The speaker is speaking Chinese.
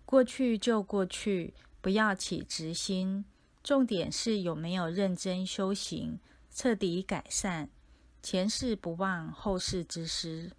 过去就过去，不要起执心，重点是有没有认真修行，彻底改善，前世不忘后世之师。